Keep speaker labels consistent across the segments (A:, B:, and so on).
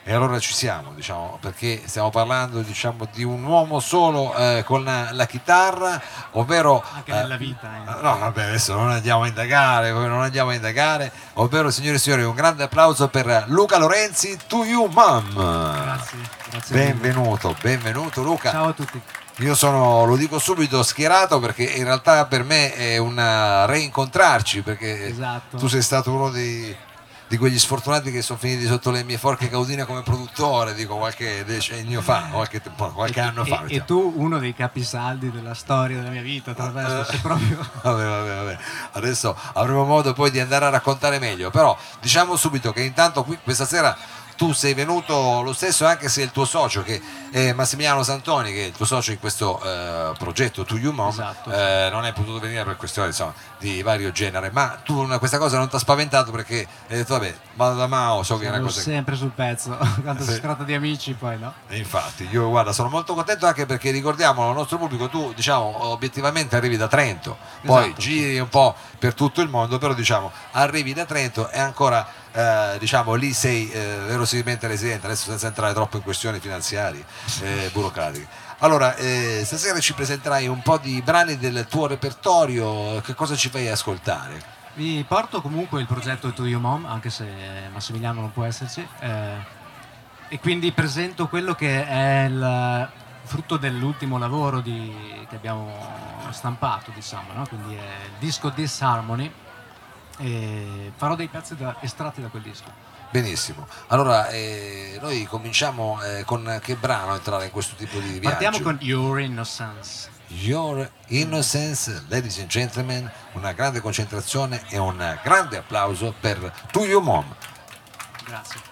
A: E allora ci siamo, diciamo, perché stiamo parlando, diciamo, di un uomo solo con la chitarra, ovvero
B: Anche nella vita.
A: no, vabbè, adesso non andiamo a indagare, ovvero, signore e signori, un grande applauso per Luca Lorenzi, To You Mom.
B: Grazie.
A: Benvenuto Luca.
B: Ciao a tutti.
A: Io sono, lo dico subito, schierato, perché in realtà per me è un reincontrarci, perché
B: Esatto.
A: tu sei stato uno di quegli sfortunati che sono finiti sotto le mie forche caudine come produttore, dico qualche decennio fa, qualche anno fa.
B: E tu uno dei capisaldi della storia della mia vita, tra l'altro, sei proprio...
A: Vabbè. Adesso avremo modo poi di andare a raccontare meglio, però diciamo subito che intanto qui questa sera tu sei venuto lo stesso, anche se il tuo socio, che è Massimiliano Santoni, che è il tuo socio in questo progetto To You Mom,
B: esatto,
A: non è potuto venire per questioni, insomma, di vario genere, ma tu questa cosa non ti ha spaventato, perché hai detto vabbè, vado da Mao, so che è una cosa
B: sempre sul pezzo, quando si tratta di amici poi no?
A: E infatti io guarda, sono molto contento, anche perché ricordiamo al nostro pubblico, tu diciamo obiettivamente arrivi da Trento, poi
B: Esatto,
A: giri un po' per tutto il mondo, però diciamo arrivi da Trento e ancora diciamo lì sei verosimilmente residente, adesso senza entrare troppo in questioni finanziarie burocratiche. Allora, stasera ci presenterai un po' di brani del tuo repertorio, che cosa ci fai ascoltare?
B: Vi porto comunque il progetto To You Mom, anche se Massimiliano non può esserci, e quindi presento quello che è il frutto dell'ultimo lavoro che abbiamo stampato, diciamo, no? Quindi è il disco Disharmony, e farò dei pezzi estratti da quel disco.
A: Benissimo, allora noi cominciamo con che brano entrare in questo tipo di viaggio?
B: Partiamo con Your Innocence.
A: Your Innocence, ladies and gentlemen, una grande concentrazione e un grande applauso per To You Mom.
B: Grazie.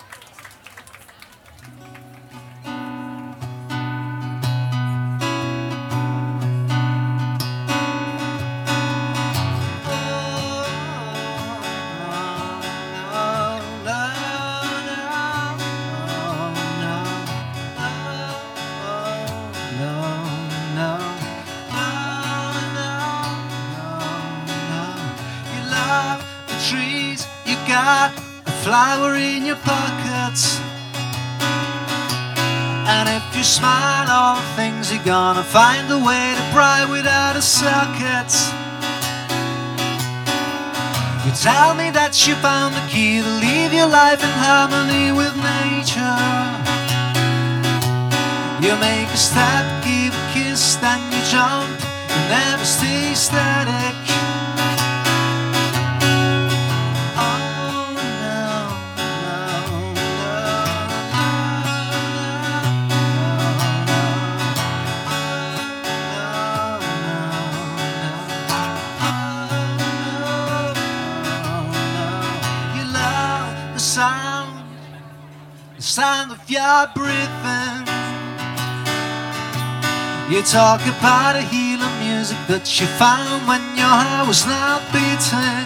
C: Flower in your pockets, and if you smile all things, you're gonna find a way to pry without a socket. You tell me that you found the key to live your life in harmony with nature. You make a step, give a kiss, then you jump, you never stay static. Sound of your breathing. You talk about a healing music that you found when your heart was not beating.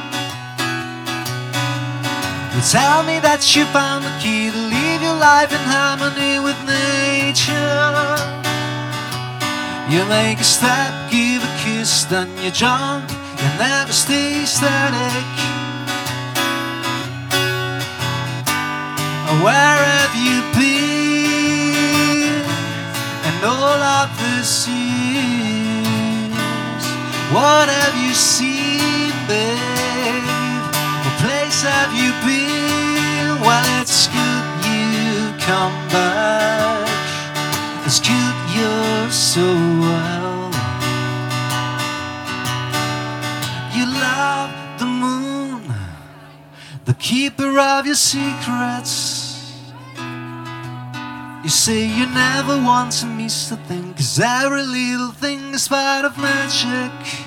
C: You tell me that you found the key to live your life in harmony with nature. You make a step, give a kiss, then you jump, you never stay static. Where have you been and all of this years? What have you seen, babe? What place have you been? Well, it's good you come back. It's good you're so well. You love the moon, the keeper of your secrets. You say you never want to miss a thing, 'cause every little thing is part of magic.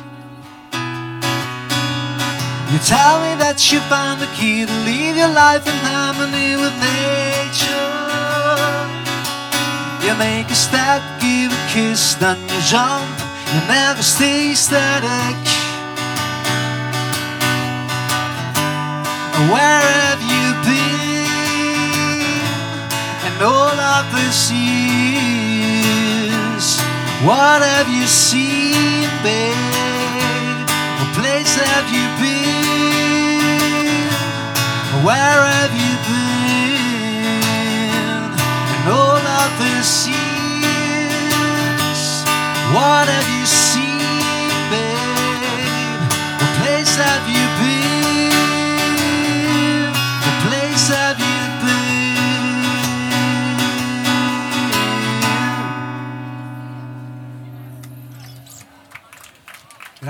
C: You tell me that you found the key to live your life in harmony with nature. You make a step, give a kiss, then you jump, you never stay static. Where have you been and all of these years? What have you seen, babe? What place have you been? Where have you been?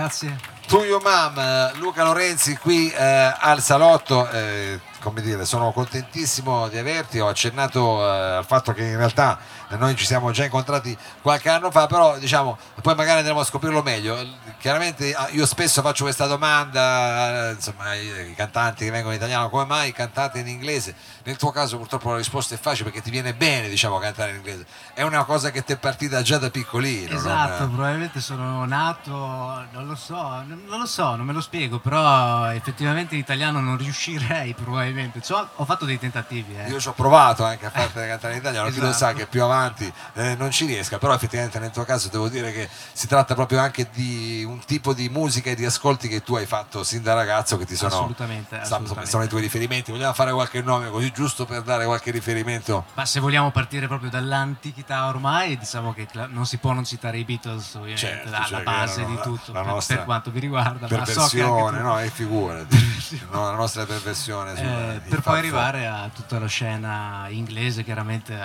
B: Grazie.
A: To Your Mom, Luca Lorenzi qui al salotto, come dire, sono contentissimo di averti. Ho accennato al fatto che in realtà noi ci siamo già incontrati qualche anno fa, però diciamo poi magari andremo a scoprirlo meglio. Chiaramente io spesso faccio questa domanda, insomma, ai cantanti che vengono in italiano: come mai cantate in inglese? Nel tuo caso purtroppo la risposta è facile, perché ti viene bene, diciamo, cantare in inglese. È una cosa che ti è partita già da piccolino.
B: Esatto, probabilmente sono nato, non lo so, non me lo spiego, però effettivamente in italiano non riuscirei probabilmente. Ho fatto dei tentativi.
A: Io ci ho provato anche a farti cantare in italiano, chi lo sa
B: Esatto.
A: che più avanti non ci riesca, però effettivamente nel tuo caso devo dire che si tratta proprio anche di un tipo di musica e di ascolti che tu hai fatto sin da ragazzo, che ti sono,
B: Assolutamente.
A: sono i tuoi riferimenti. Vogliamo fare qualche nome così, giusto per dare qualche riferimento?
B: Ma se vogliamo partire proprio dall'antichità, ormai diciamo che non si può non citare i Beatles, ovviamente,
A: Certo,
B: alla
A: cioè
B: base
A: che
B: di
A: erano
B: tutto,
A: la nostra
B: per quanto mi riguarda.
A: perversione,
B: ma so che anche tu...
A: no, e figurati, no, la nostra perversione
B: per poi arrivare a tutta la scena inglese, chiaramente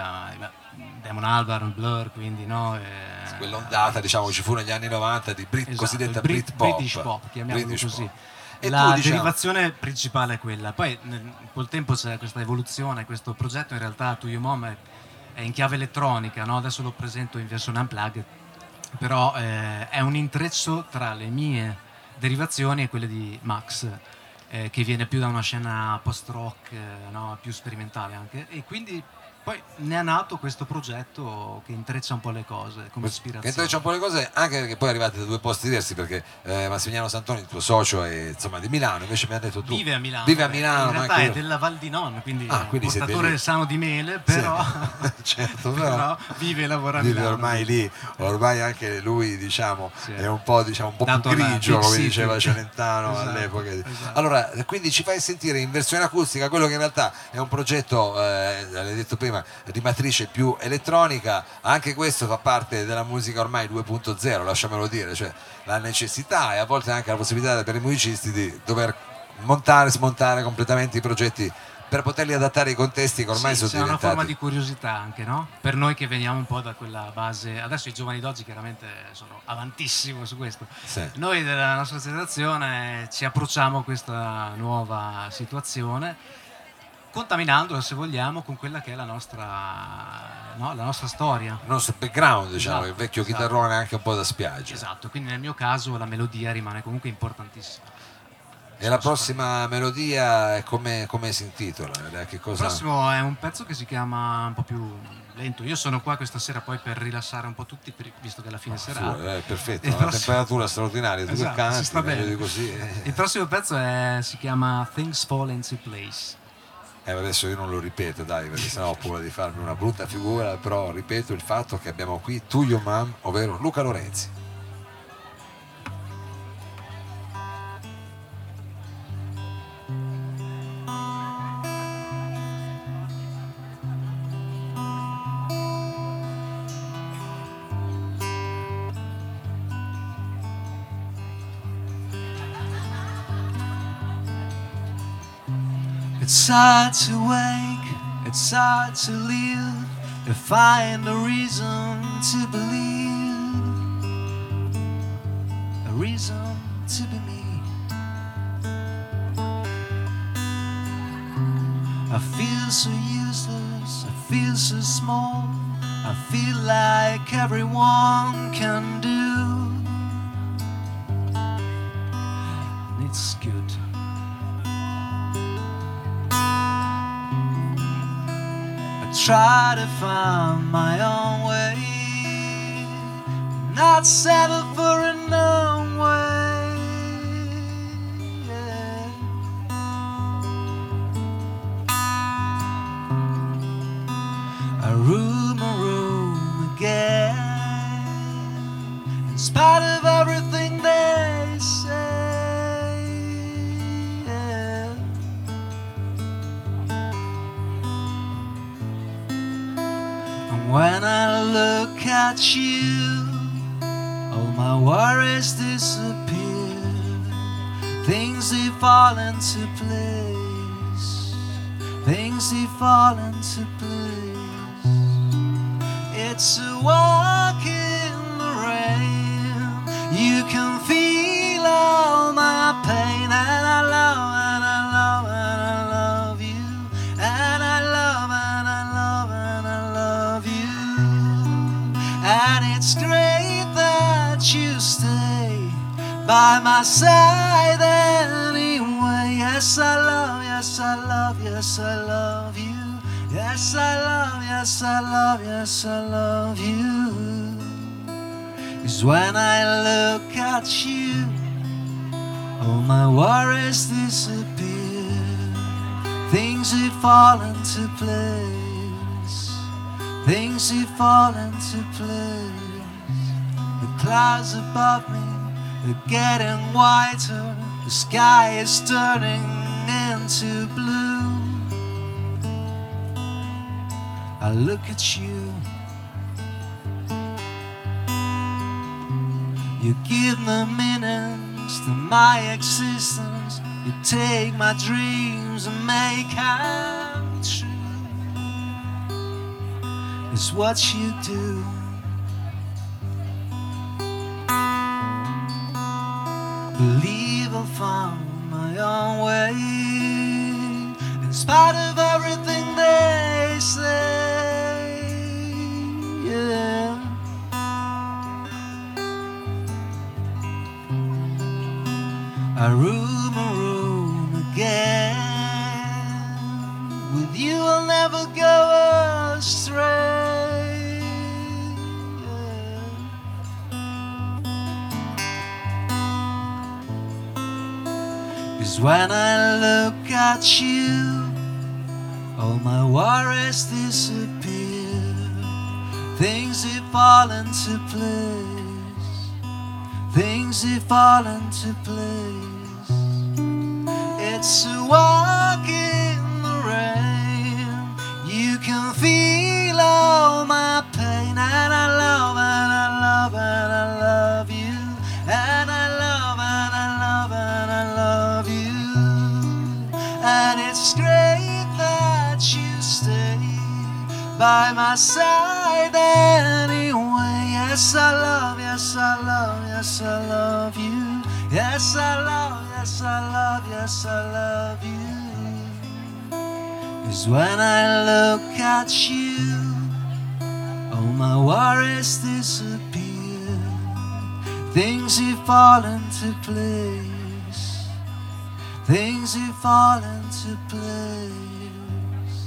B: Damon Albarn, Blur, quindi no,
A: quell'ondata, diciamo, ci fu negli anni 90 di
B: esatto,
A: cosiddetta
B: British
A: Britpop,
B: pop, chiamiamolo
A: British
B: così.
A: pop. E
B: La
A: tu, diciamo,
B: derivazione principale è quella. Poi col tempo c'è questa evoluzione, questo progetto in realtà To Your Mom è in chiave elettronica, no? Adesso lo presento in versione unplugged, però è un intreccio tra le mie derivazioni e quelle di Max, che viene più da una scena post-rock, no? Più sperimentale anche, e quindi poi ne è nato questo progetto che intreccia un po' le cose come ispirazione.
A: Che intreccia un po' le cose, anche perché poi arrivate da due posti diversi, perché Massimiliano Santoni, il tuo socio, è insomma di Milano, invece mi ha detto tu
B: vive a Milano.
A: Vive a Milano,
B: in realtà
A: ma
B: è della Val di Non, quindi
A: quindi
B: portatore sano di mele, però,
A: certo,
B: però vive e lavora a
A: vive
B: Milano.
A: ormai lì, ormai anche lui, diciamo,
B: Sì.
A: è un po', diciamo, un po'
B: Dato
A: più
B: alla
A: grigio,
B: Big
A: come
B: City.
A: diceva Celentano
B: Esatto,
A: all'epoca.
B: esatto.
A: Allora, quindi ci fai sentire in versione acustica quello che in realtà è un progetto, l'hai detto prima, di matrice più elettronica. Anche questo fa parte della musica ormai 2.0, lasciamelo dire, cioè la necessità e a volte anche la possibilità per i musicisti di dover montare, smontare completamente i progetti per poterli adattare ai contesti che ormai
B: Sì,
A: sono
B: c'è una
A: diventati.
B: forma di curiosità anche, no? Per noi che veniamo un po' da quella base. Adesso i giovani d'oggi chiaramente sono avantissimo su questo.
A: Sì.
B: Noi della nostra generazione ci approcciamo a questa nuova situazione, contaminandola, se vogliamo, con quella che è la nostra, no? La nostra storia.
A: Il nostro background, diciamo,
B: Esatto,
A: il vecchio
B: esatto.
A: chitarrone anche un po' da spiaggia.
B: Esatto, quindi nel mio caso la melodia rimane comunque importantissima.
A: E la prossima melodia è come si intitola? Che
B: Il
A: cosa...
B: prossimo è un pezzo che si chiama un po' più lento. Io sono qua questa sera poi per rilassare un po' tutti, visto che è la fine serata.
A: perfetto,
B: Il
A: una
B: prossimo-
A: temperatura straordinaria, tu
B: Esatto,
A: che canti,
B: si sta
A: meglio
B: bene.
A: di così.
B: Il prossimo pezzo si chiama Things Fall Into Place.
A: Adesso io non lo ripeto, dai, perché sennò ho paura di farmi una brutta figura, però ripeto il fatto che abbiamo qui To Your Mom, ovvero Luca Lorenzi.
C: It's hard to wake, it's hard to live, to find a reason to believe, a reason to be me. I feel so useless, I feel so small, I feel like everyone can do. And it's good. Try to find my own way, not settle for a known way. Yeah. I room again, in spite of everything they say. Yeah. When I look at you, all my worries disappear. Things they fall into place. Things they fall into place. It's a walk in the rain. You can feel feel all my pain, and I love and I love and I love you, and I love and I love and I love you, and it's great that you stay by my side anyway. Yes, I love, yes, I love, yes, I love you. Yes, I love, yes, I love, yes, I love you. 'Cause when I look at you, all my worries disappear. Things have fallen into place. Things have fallen into place. The clouds above me are getting whiter. The sky is turning into blue. I look at you. You give the meanings to my existence. You take my dreams and make them true. It's what you do. Believe I'll find my own way, in spite of everything they say. Yeah. I room again. With you I'll never go astray. Yeah. 'Cause when I look at you, all my worries disappear. Things have fallen into place. Things have fallen into place. It's a walk in the rain. You can feel all my pain, and I love and I love and I love you, and I love and I love and I love you, and it's great that you stay by my side anyway. Yes, I love, yes, I love, yes, I love you. Yes, I love, yes, I love, yes, I love you. 'Cause when I look at you, all my worries disappear. Things have fallen into place. Things have fallen into place.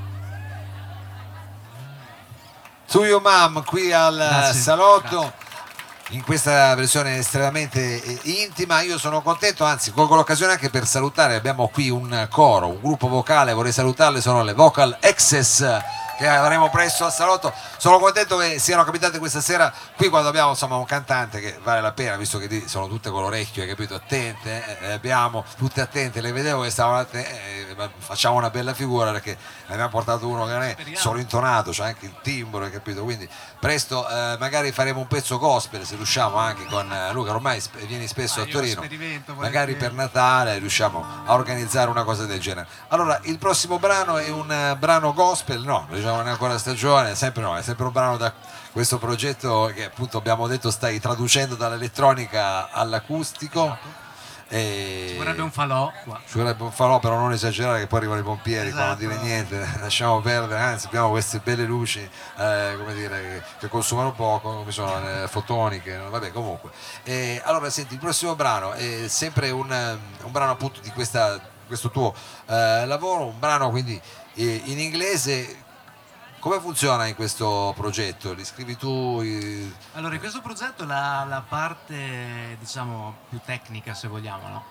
A: To Your Mom qui al
B: Grazie.
A: salotto.
B: Grazie.
A: In questa versione estremamente intima. Io sono contento, anzi colgo l'occasione anche per salutare, abbiamo qui un coro, un gruppo vocale, vorrei salutarle, sono le Vocal Excess che avremo presto al salotto. Sono contento che siano capitate questa sera qui quando abbiamo insomma un cantante che vale la pena, visto che lì sono tutte con l'orecchio, hai capito, attente, le abbiamo tutte attente, le vedevo che stavano attente, facciamo una bella figura perché ne abbiamo portato uno che non è solo intonato, c'è anche il timbro, hai capito, quindi presto magari faremo un pezzo gospel se riusciamo anche con Luca, ormai vieni spesso a Torino, magari per Natale riusciamo a organizzare una cosa del genere. Allora il prossimo brano è un brano gospel, no, diciamo non è ancora stagione, sempre no, è sempre un brano da questo progetto che appunto abbiamo detto stai traducendo dall'elettronica all'acustico.
B: Ci vorrebbe un falò qua.
A: Ci vorrebbe un falò, però non esagerare che poi arrivano i pompieri, qua non
B: Esatto.
A: dire niente, lasciamo perdere, anzi abbiamo queste belle luci come dire, che consumano poco, come sono le fotoniche, vabbè comunque. Allora senti, il prossimo brano è sempre un brano appunto di questo tuo lavoro, un brano quindi in inglese. Come funziona in questo progetto? Li scrivi tu?
B: Allora, in questo progetto la parte, diciamo, più tecnica, se vogliamo, no?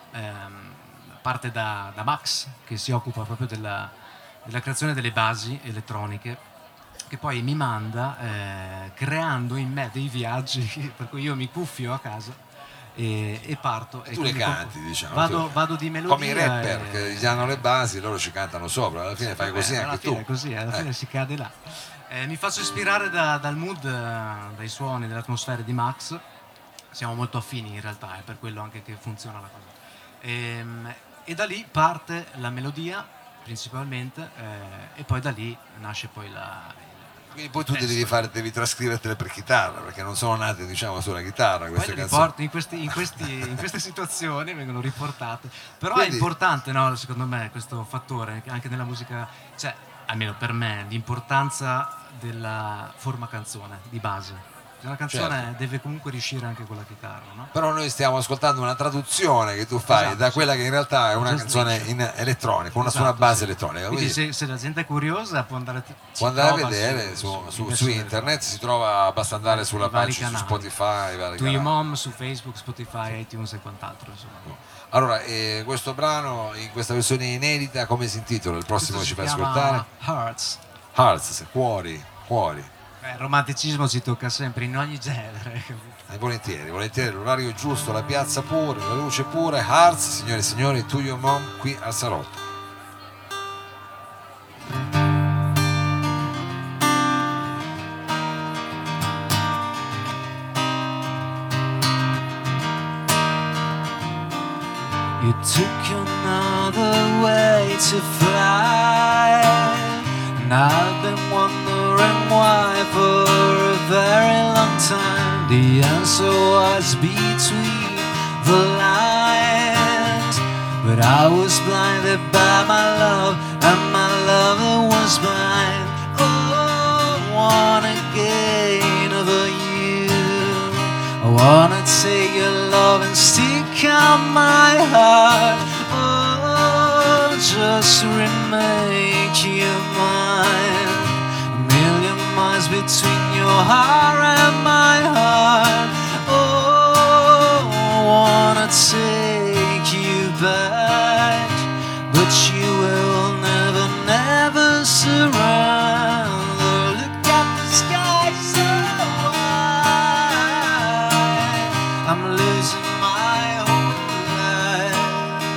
B: Parte da Max, che si occupa proprio della creazione delle basi elettroniche, che poi mi manda creando in me dei viaggi, per cui io mi cuffio a casa e parto.
A: Tu le canti, diciamo.
B: Vado di melodia.
A: Come i rapper che gli hanno le basi, loro ci cantano sopra, alla fine fai così anche tu.
B: Così, alla fine si cade là. Mi faccio ispirare dal mood, dai suoni, dalle atmosfere di Max. Siamo molto affini in realtà, è per quello anche che funziona la cosa. E da lì parte la melodia principalmente, e poi da lì nasce poi
A: Quindi poi tu devi trascrivertele per chitarra, perché non sono nate, diciamo, sulla chitarra queste canzoni.
B: In queste situazioni vengono riportate. Però
A: Quindi,
B: è importante, no, secondo me, questo fattore, anche nella musica, cioè, almeno per me, l'importanza della forma canzone, di base. Una canzone deve comunque riuscire anche con la chitarra, no?
A: Però noi stiamo ascoltando una traduzione che tu fai da quella che in realtà è una canzone in elettronica, su una base elettronica.
B: Quindi se la gente è curiosa può andare
A: a vedere su internet, si trova, basta andare sulla pagina su Spotify,
B: To You Mom, su Facebook, Spotify, iTunes e quant'altro, insomma.
A: Allora, questo brano in questa versione inedita come si intitola? Il prossimo che ci fai ascoltare? Hearts, cuori.
B: Il romanticismo ci tocca sempre, in ogni genere.
A: Volentieri, l'orario giusto, la piazza pure, la luce pure. Hearts, signore e signori, To Your Mom qui al Salotto.
C: You took another way to fly, and I've been wondering why for a very long time. The answer was between the lines, but I was blinded by my love, and my lover was blind. Oh, I wanna gain over you, I wanna take your love and stick out my heart. Oh, just remake you mine. A million miles between your heart and my heart. Oh, I wanna take you back, but you will never, never surrender. Look at the sky so wide, I'm losing my whole life.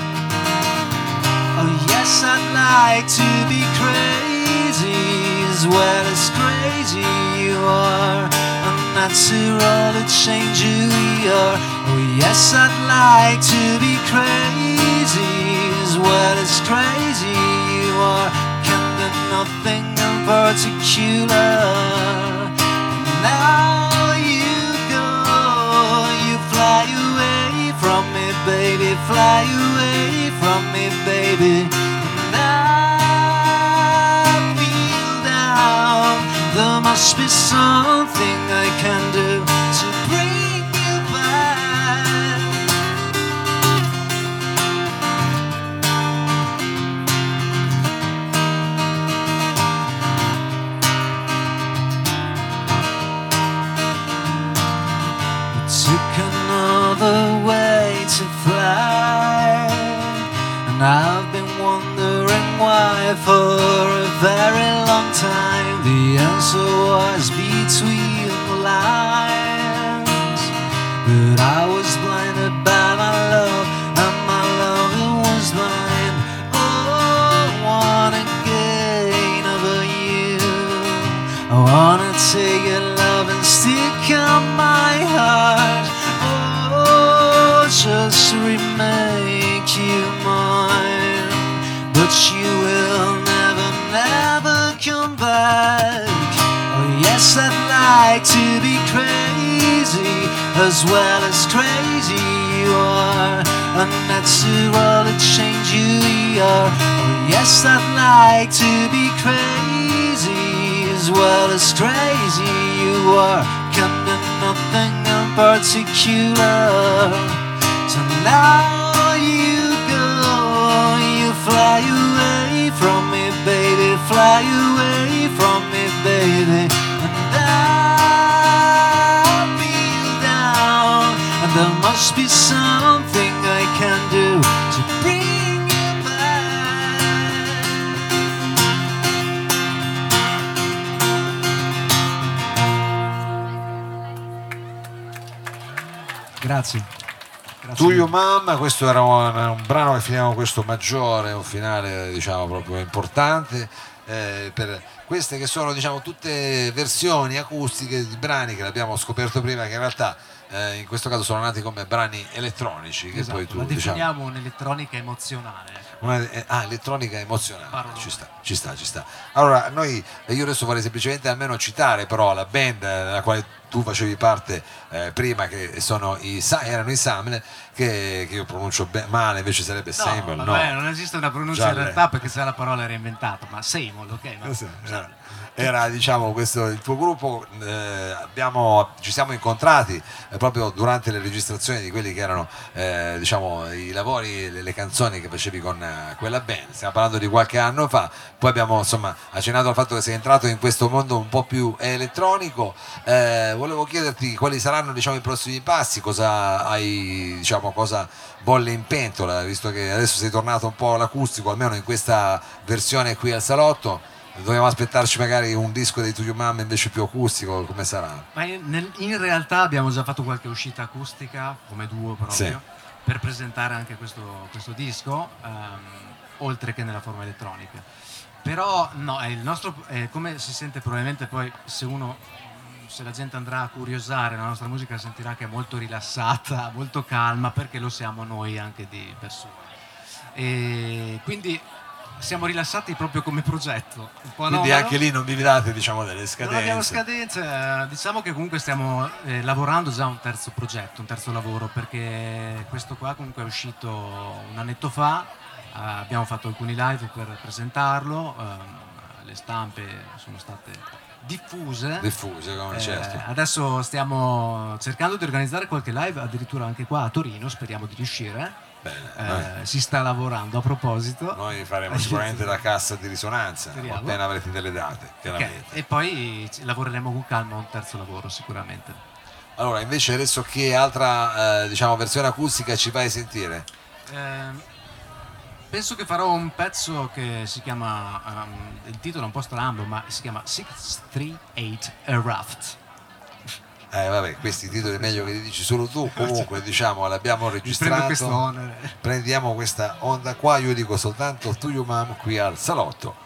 C: Oh yes, I'd like to be crazy as well as crazy you are. Unnatural to change who we are. Oh yes, I'd like to be crazy as well as crazy you are. Can do nothing in particular. Now you go, you fly away from me, baby, fly away from me, baby. And I feel down. There must be something I can do to bring you back. You took another way to fly, and I've been wondering why for a very long time. The answer was between the lines, but I was blinded by my love, and my lover was blind. Oh, I wanna gain over you, I wanna take your love and stick out my heart. Oh, just remake you mine, but you will never, never come back. Oh yes, I'd like to be crazy as well as crazy you are. Unnatural to change who you are. Oh yes, I'd like to be crazy as well as crazy you are. Can do nothing in particular. So now you go, you fly away from me, baby, fly away from me, baby. And I feel down, and there must be something I can do to bring you back.
B: Grazie.
A: To Your Mom, questo era un brano che finiamo questo maggiore, un finale diciamo proprio importante per queste che sono diciamo tutte versioni acustiche di brani che abbiamo scoperto prima, che in realtà in questo caso sono nati come brani elettronici, che
B: Esatto,
A: poi tu
B: la definiamo
A: diciamo,
B: un'elettronica emozionale.
A: elettronica emozionale.
B: Parolone.
A: Ci sta. Allora io adesso vorrei semplicemente almeno citare però la band della quale tu facevi parte prima, che erano i Samle, che io pronuncio male, invece sarebbe Seymour.
B: Vabbè, non esiste una pronuncia
A: Già
B: in realtà, perché se la parola era inventata, ma Seymour, ok? Ma...
A: Era diciamo questo il tuo gruppo, ci siamo incontrati proprio durante le registrazioni di quelli che erano diciamo i lavori, le canzoni che facevi con quella band. Stiamo parlando di qualche anno fa, poi abbiamo insomma accennato al fatto che sei entrato in questo mondo un po' più elettronico. Volevo chiederti quali saranno diciamo i prossimi passi, cosa bolle in pentola, visto che adesso sei tornato un po' all'acustico, almeno in questa versione qui al salotto. Dobbiamo aspettarci magari un disco dei To You Mom invece più acustico, come sarà?
B: Ma in realtà abbiamo già fatto qualche uscita acustica come duo proprio,
A: sì,
B: per presentare anche questo disco, oltre che nella forma elettronica. Però no, il nostro, come si sente probabilmente poi, se la gente andrà a curiosare la nostra musica, sentirà che è molto rilassata, molto calma, perché lo siamo noi anche di persona. E quindi siamo rilassati proprio come progetto.
A: Quindi anche lì non vi date diciamo delle scadenze?
B: Non abbiamo scadenze, diciamo che comunque stiamo lavorando già a un terzo progetto, un terzo lavoro, perché questo qua comunque è uscito un annetto fa, abbiamo fatto alcuni live per presentarlo, le stampe sono state diffuse
A: come certo.
B: Adesso stiamo cercando di organizzare qualche live addirittura anche qua a Torino, speriamo di riuscire.
A: Bene,
B: si sta lavorando a proposito.
A: Noi faremo sicuramente la cassa di risonanza appena avrete delle date,
B: chiaramente. Okay. E poi lavoreremo con calma a un terzo lavoro sicuramente.
A: Allora invece adesso che altra diciamo versione acustica ci vai a sentire?
B: Penso che farò un pezzo che si chiama, il titolo è un po' strambo, ma si chiama 638 A Raft.
A: Vabbè, questi titoli è meglio che li dici solo tu. Comunque diciamo l'abbiamo registrato, prendiamo questa onda qua, io dico soltanto To You Mom qui al salotto.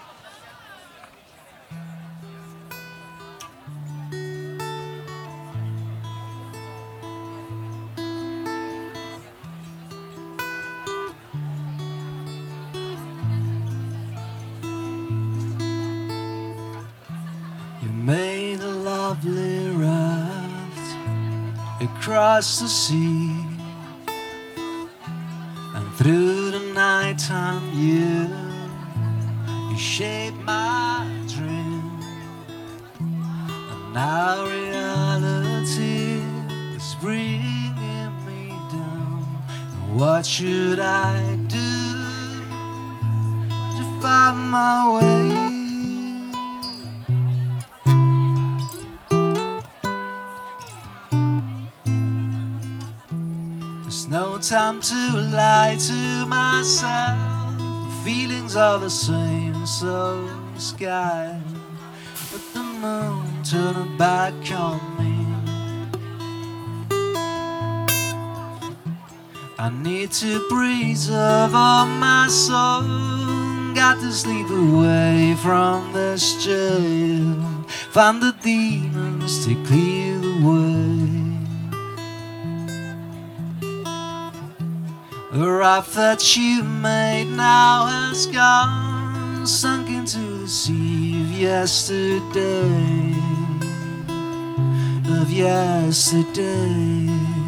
C: You made a lovely raft across the sea, and through the nighttime you shaped my dream, and now reality is bringing me down. And what should I do to find my way? No time to lie to myself. The feelings are the same, so the sky. But the moon turned her back on me. I need to preserve all my soul. Got to sleep away from this jail. Find the demons to clear the way. The raft that you made now has gone, sunk into the sea of yesterday, of yesterday,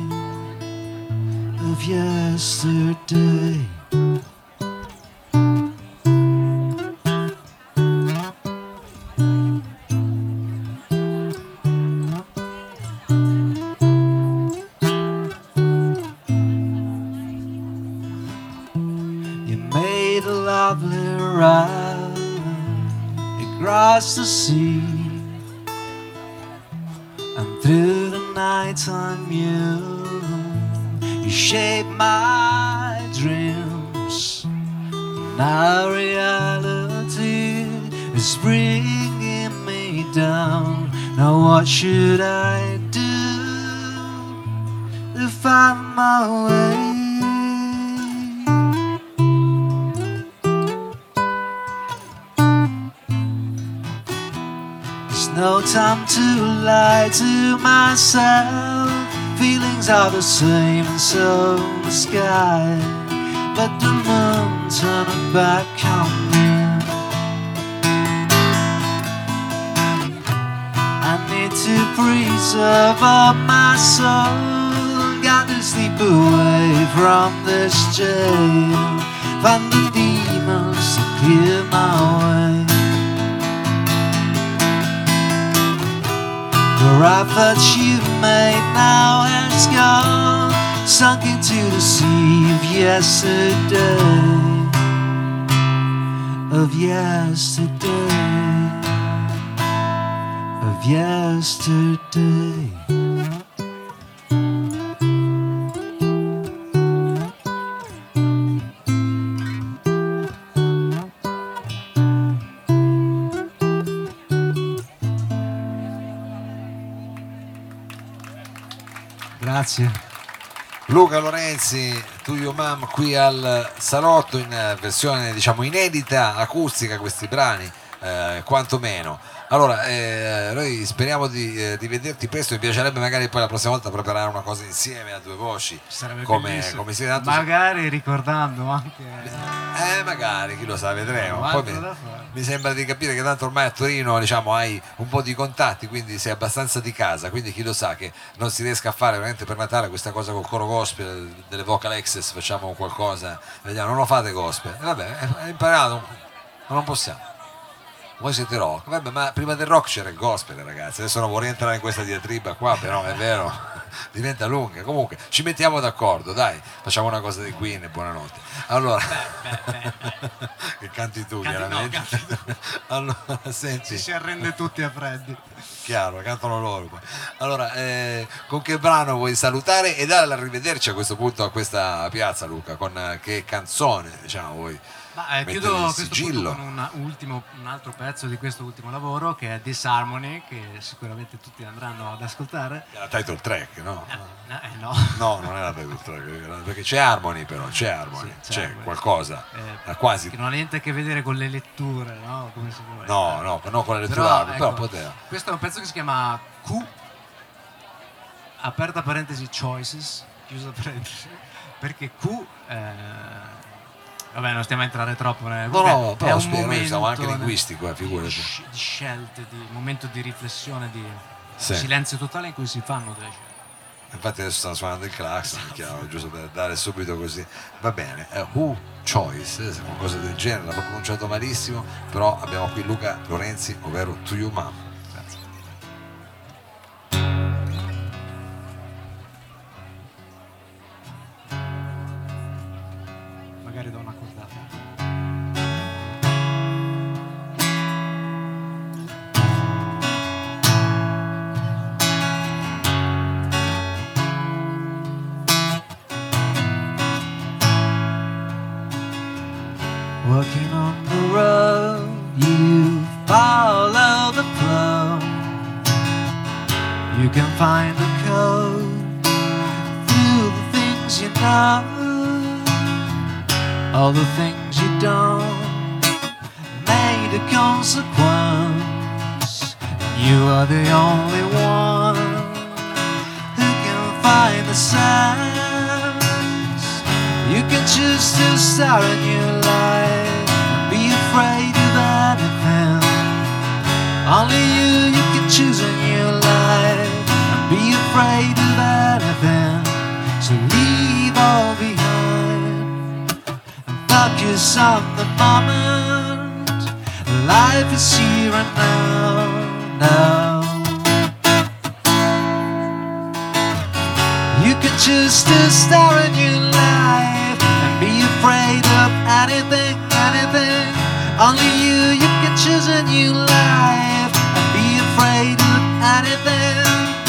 C: of yesterday. Across the sea, and through the nighttime you shape my dreams. Now reality is bringing me down. Now what should I do to find my way? no time to lie to myself. Feelings are the same and so the sky, but the moon turned back on me. I need to preserve up my soul, got to sleep away from this jail, find the demons to clear my way. The raft that you've made now has gone, sunk into the sea of yesterday, of yesterday, of yesterday.
B: Grazie.
A: Luca Lorenzi, To Your Mom, qui al salotto in versione diciamo inedita, acustica, questi brani, quantomeno. Allora, noi speriamo di vederti presto, mi piacerebbe magari poi la prossima volta preparare una cosa insieme a due voci.
B: Sarebbe
A: come si tanto
B: magari ricordando anche...
A: magari, chi lo sa, vedremo.
B: Poi
A: mi sembra di capire che tanto ormai a Torino diciamo hai un po' di contatti, quindi sei abbastanza di casa, quindi chi lo sa che non si riesca a fare veramente per Natale questa cosa col coro gospel, delle vocal access, facciamo qualcosa, vediamo, non lo fate gospel, vabbè, è imparato, ma non possiamo. Voi siete rock, vabbè, ma prima del rock c'era il gospel, ragazzi, adesso non vorrei entrare in questa diatriba qua, però è vero, diventa lunga. Comunque ci mettiamo d'accordo, dai, facciamo una cosa di Queen e buonanotte. Allora che canti tu, chiaramente.
B: No, canti tu.
A: Allora, senti,
B: ci si arrende tutti a freddi,
A: chiaro, cantano loro poi. Allora, con che brano vuoi salutare e dare l'arrivederci a questo punto a questa piazza, Luca? Con che canzone, diciamo, vuoi?
B: Ma chiudo questo punto con un altro pezzo di questo ultimo lavoro, che è Disharmony, che sicuramente tutti andranno ad ascoltare.
A: È la title track, no?
B: No.
A: No, non è la title track, perché c'è Harmony, però c'è Harmony,
B: sì,
A: c'è
B: Harmony.
A: Qualcosa, quasi.
B: Che non ha niente a che vedere con le letture, no? Come si vuole.
A: No, con le letture, però poteva.
B: Questo è un pezzo che si chiama Q, aperta parentesi choices, chiusa parentesi, perché Q... Vabbè, non stiamo a entrare troppo.
A: No, però
B: è un momento,
A: siamo anche linguistico, figurati.
B: Di scelte, di momento di riflessione, di
A: sì.
B: Silenzio totale in cui si fanno delle scelte.
A: Infatti adesso stanno suonando il clacson, chiaro, giusto per dare subito così. Va bene, Who Choice, qualcosa del genere, l'ho pronunciato malissimo, però abbiamo qui Luca Lorenzi, ovvero To Your Mom.
B: Grazie. Magari do una cordata.
C: Walking on the road, you follow the flow. You can find the code through the things you know, all the things you don't made a consequence. You are the only one who can find the signs. You can choose to start a new life and be afraid of anything. Only you can choose a new life and be afraid of anything. So leave all behind and focus on the moment. Life is here and now. You can choose to start a new life and be afraid of anything. Only you can choose a new life and be afraid of anything.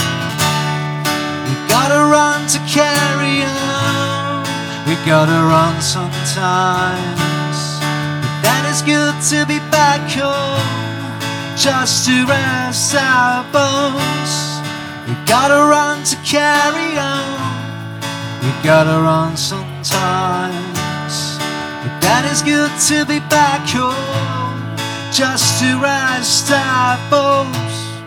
C: We gotta run to carry on. We gotta run sometimes, but then it's good to be back home, just to rest our bones. We gotta run to carry on. We gotta run sometimes, but that is good to be back home, just to rest our bones.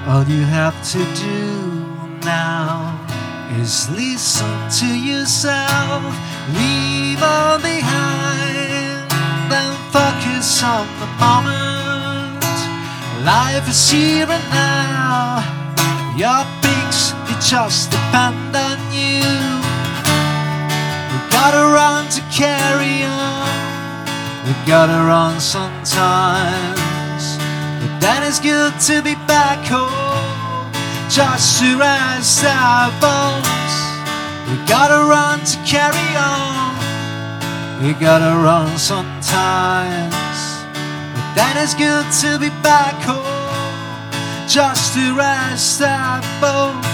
C: All you have to do now is listen to yourself, leave all behind, then focus on the moment. Life is here and now, your peaks, they just depend on you. We gotta run to carry on, we gotta run sometimes, but then it's good to be back home, just to rest our bones. We gotta run to carry on, we gotta run sometimes, but then it's good to be back home, just to rest our bones.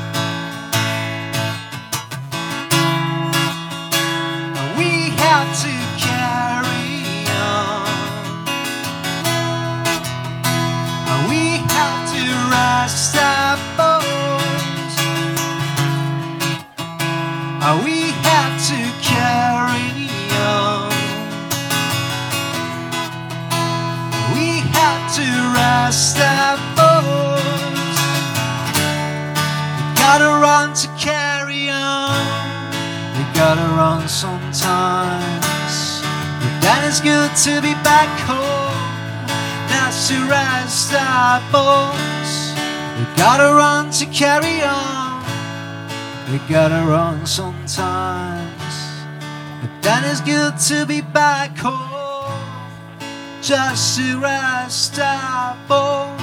C: We have to carry on, we have to rest our bones, we have to carry on, we have to rest our bones. We gotta run to carry on, we gotta run sometimes, but then it's good to be back home, that's to rest our bones. We gotta run to carry on, we gotta run sometimes, but then it's good to be back home, just to rest our bones.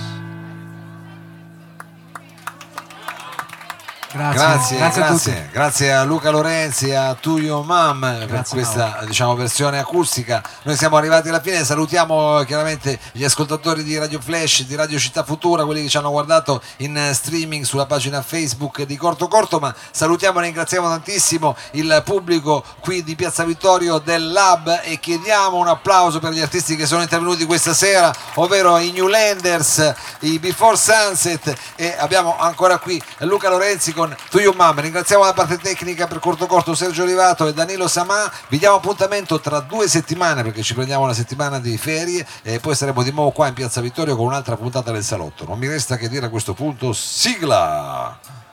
A: Grazie a Luca Lorenzi e a To Your Mom per questa versione acustica. Noi siamo arrivati alla fine, salutiamo chiaramente gli ascoltatori di Radio Flash, di Radio Città Futura, quelli che ci hanno guardato in streaming sulla pagina Facebook di Corto Corto, ma salutiamo e ringraziamo tantissimo il pubblico qui di Piazza Vittorio del Lab e chiediamo un applauso per gli artisti che sono intervenuti questa sera, ovvero i Newlanders, i Before Sunset, e abbiamo ancora qui Luca Lorenzi con To Your Mom. Ringraziamo la parte tecnica per Corto Corto Sergio Olivato e Danilo Samà. Vi diamo appuntamento tra 2 settimane perché ci prendiamo una settimana di ferie e poi saremo di nuovo qua in Piazza Vittorio con un'altra puntata del Salotto. Non mi resta che dire a questo punto sigla.